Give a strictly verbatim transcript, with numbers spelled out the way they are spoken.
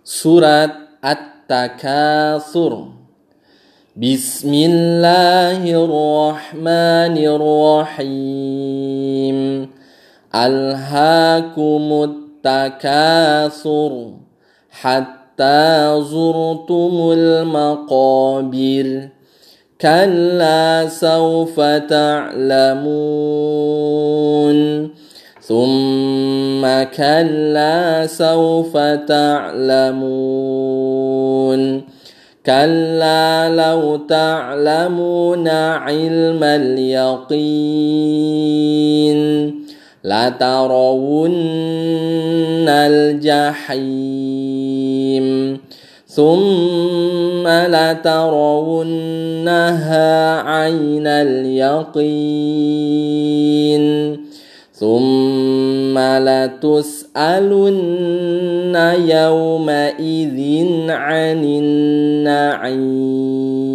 Surat At-Takatsur. Bismillahirrahmanirrahim. Alhaakumut takatsur hatta zurtumul maqabir. Kalla sawfa ta'lamun. Thumma kalla sawfa ta'lamun. Kalla law ta'lamuna ilmal yaqin latarawunnal jahim. Thumma latarawunnaha 'ainal yaqin. Thumma latus'alunna yawma idzin 'anin na'im.